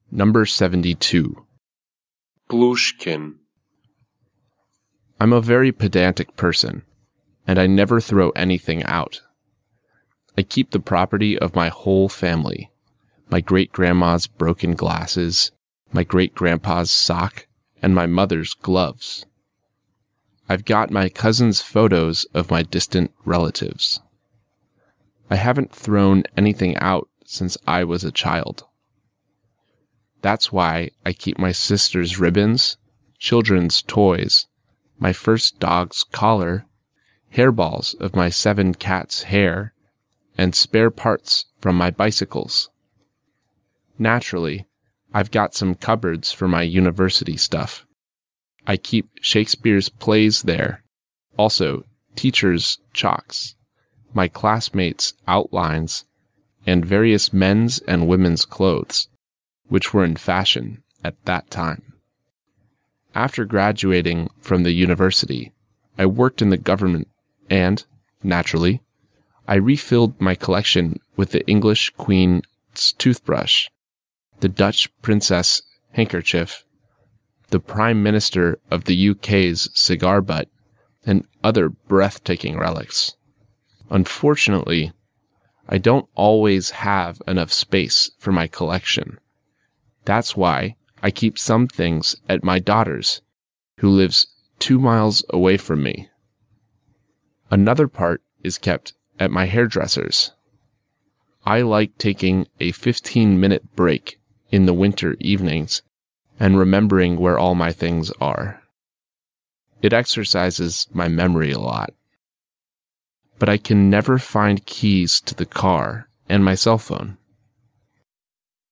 Number 72. Plushkin. I'm a very pedantic person, and I never throw anything out. I keep the property of my whole family, my great-grandma's broken glasses, my great-grandpa's sock, and my mother's gloves. I've got my cousin's photos of my distant relatives. I haven't thrown anything out since I was a child. That's why I keep my sister's ribbons, children's toys, my first dog's collar, hairballs of my 7 cats' hair, and spare parts from my bicycles. Naturally, I've got some cupboards for my university stuff. I keep Shakespeare's plays there, also teachers' chalks, my classmates' outlines, and various men's and women's clothes, which were in fashion at that time. After graduating from the university, I worked in the government and, naturally, I refilled my collection with the English Queen's toothbrush, the Dutch princess handkerchief, the Prime Minister of the UK's cigar butt, and other breathtaking relics. Unfortunately, I don't always have enough space for my collection. That's why I keep some things at my daughter's, who lives 2 miles away from me. Another part is kept at my hairdresser's. I like taking a 15-minute break in the winter evenings and remembering where all my things are. It exercises my memory a lot. But I can never find keys to the car and my cell phone.